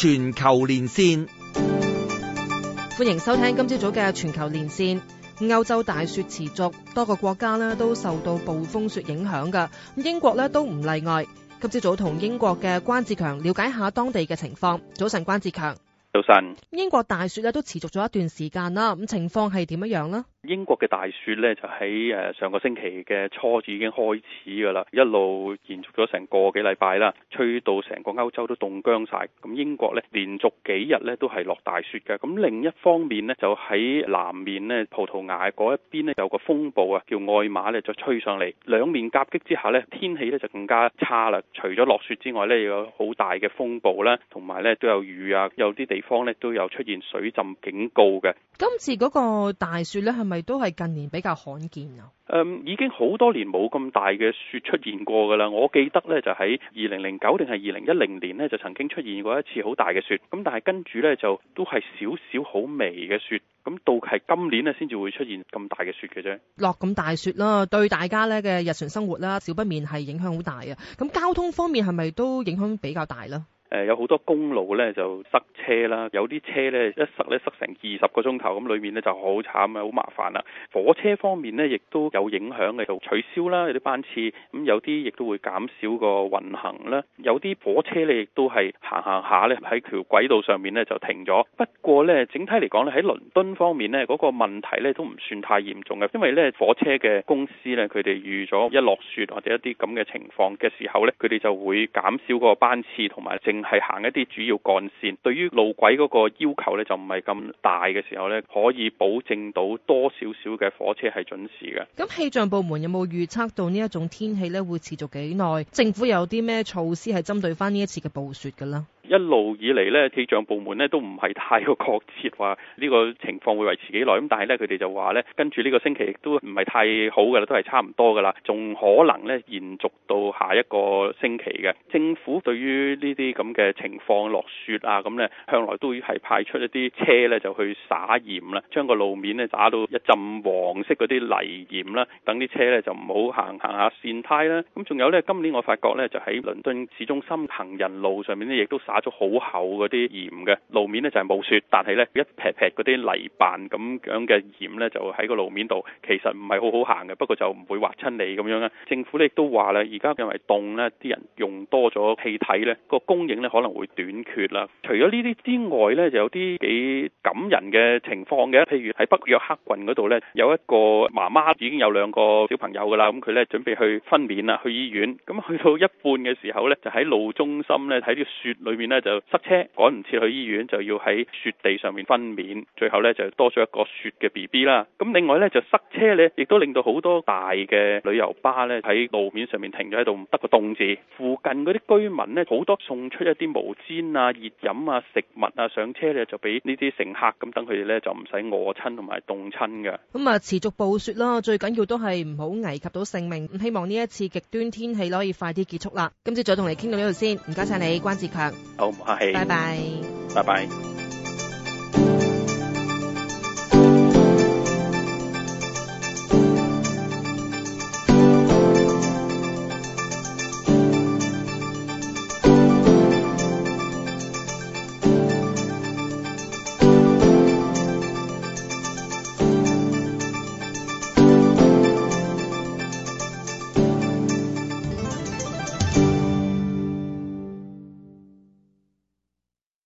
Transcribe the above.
全球連線， 歡迎收聽今朝早嘅全球連線。歐洲大雪持續，多個國家呢都受到暴風雪影響㗎，英國呢都唔例外。今朝早同英國嘅關志強了解下當地嘅情況。早晨，關志強。 早晨。 英國大雪都持續咗一段時間啦，咁情況係點樣呢？ 英國嘅大雪呢，就喺上個星期嘅初已經開始㗎啦，一路延續咗成個幾禮拜啦，吹到成個歐洲都凍僵晒。咁英國呢，連續幾日呢都係落大雪嘅。咁另一方面呢，就喺南面呢，葡萄牙嗰一邊呢，有個風暴啊，叫愛瑪呢，就吹上嚟，兩面夾擊之下呢，天氣呢就更加差啦。除咗落雪之外呢，有好大嘅風暴啦，同埋呢都有雨啊，有啲地方呢都有出現水浸警告嘅。 今次嗰個大雪呢，係咪都係近年比較罕見啊？ 已經好多年冇咁大嘅雪出現過㗎啦。我記得呢，就喺2009定係2010年呢，就曾經出現過一次好大嘅雪。咁但係跟住呢，就都係少少好微嘅雪。咁到係今年呢，先至會出現咁大嘅雪嘅啫。 落咁大雪啦，對大家呢嘅日常生活啦，少不免係影響好大啊。咁交通方面係咪都影響比較大呢？ 有好多公路呢就塞車啦，有啲車呢一塞呢塞成20個鐘頭，咁裏面呢就好慘啊，好麻煩啦。火車方面呢亦都有影響嘅，就取消啦，有啲班次，咁有啲亦都會減少個運行啦。有啲火車呢亦都係行下呢喺條軌道上面呢就停咗。不過呢，整體嚟講呢，喺倫敦方面呢嗰個問題呢都唔算太嚴重嘅，因為呢火車嘅公司呢，佢哋預咗一落雪或者一啲咁嘅情況嘅時候呢，佢哋就會減少個班次，同埋係行一啲主要幹線，對於路軌嗰個要求呢，就唔係咁大嘅時候呢，可以保證到多少少嘅火車係準時嘅。 咁氣象部門有冇預測到呢一種天氣呢會持續幾耐？政府有啲咩措施係針對翻呢一次嘅暴雪㗎啦？ 一路以嚟呢，氣象部門呢都唔係太過確切話呢個情況會維持幾耐。咁但係呢，佢哋就話呢，跟住呢個星期亦都唔係太好㗎啦，都係差唔多㗎啦，仲可能呢延續到下一個星期嘅。政府對於呢啲咁嘅情況落雪啊，咁呢向來都係派出一啲車呢就去灑鹽啦，將個路面呢打到一浸黃色嗰啲泥鹽啦，等啲車呢就唔好行下跣胎啦。咁仲有呢，今年我發覺呢，就喺倫敦市中心行人路上面呢，亦都打咗好厚嗰啲鹽嘅，路面呢就係冇雪，但係呢一撇撇嗰啲泥瓣咁樣嘅鹽呢，就喺個路面度，其實唔係好好行嘅，不過就唔會劃親你咁樣啦。政府呢亦都話啦，而家因為凍呢，啲人用多咗氣體呢，個供應呢可能會短缺啦。除咗呢啲之外呢，就有啲幾感人嘅情況嘅，譬如喺北約克郡嗰度呢，有一個媽媽已經有2個小朋友噶啦，咁佢呢準備去分娩啦，去醫院，咁去到一半嘅時候呢，就喺路中心呢，喺啲雪裏面呢就塞車，趕唔切去醫院，就要喺雪地上面分娩，最後呢就多咗一個雪嘅 BB 啦。咁另外呢，就塞車呢，亦都令到好多大嘅旅遊巴呢喺路面上面停咗喺度，得個凍字。附近嗰啲居民呢，好多送出一啲毛氈啊、熱飲啊、食物啊上車呢，就俾呢啲乘客，咁等佢哋呢就唔使餓親同埋凍親嘅。咁啊，持續暴雪啦，最緊要都係唔好危及到性命。希望呢一次極端天氣可以快啲結束啦。今朝早同你傾到呢度先，唔該晒你，關志強。 好，唔客氣。 拜拜。 拜拜。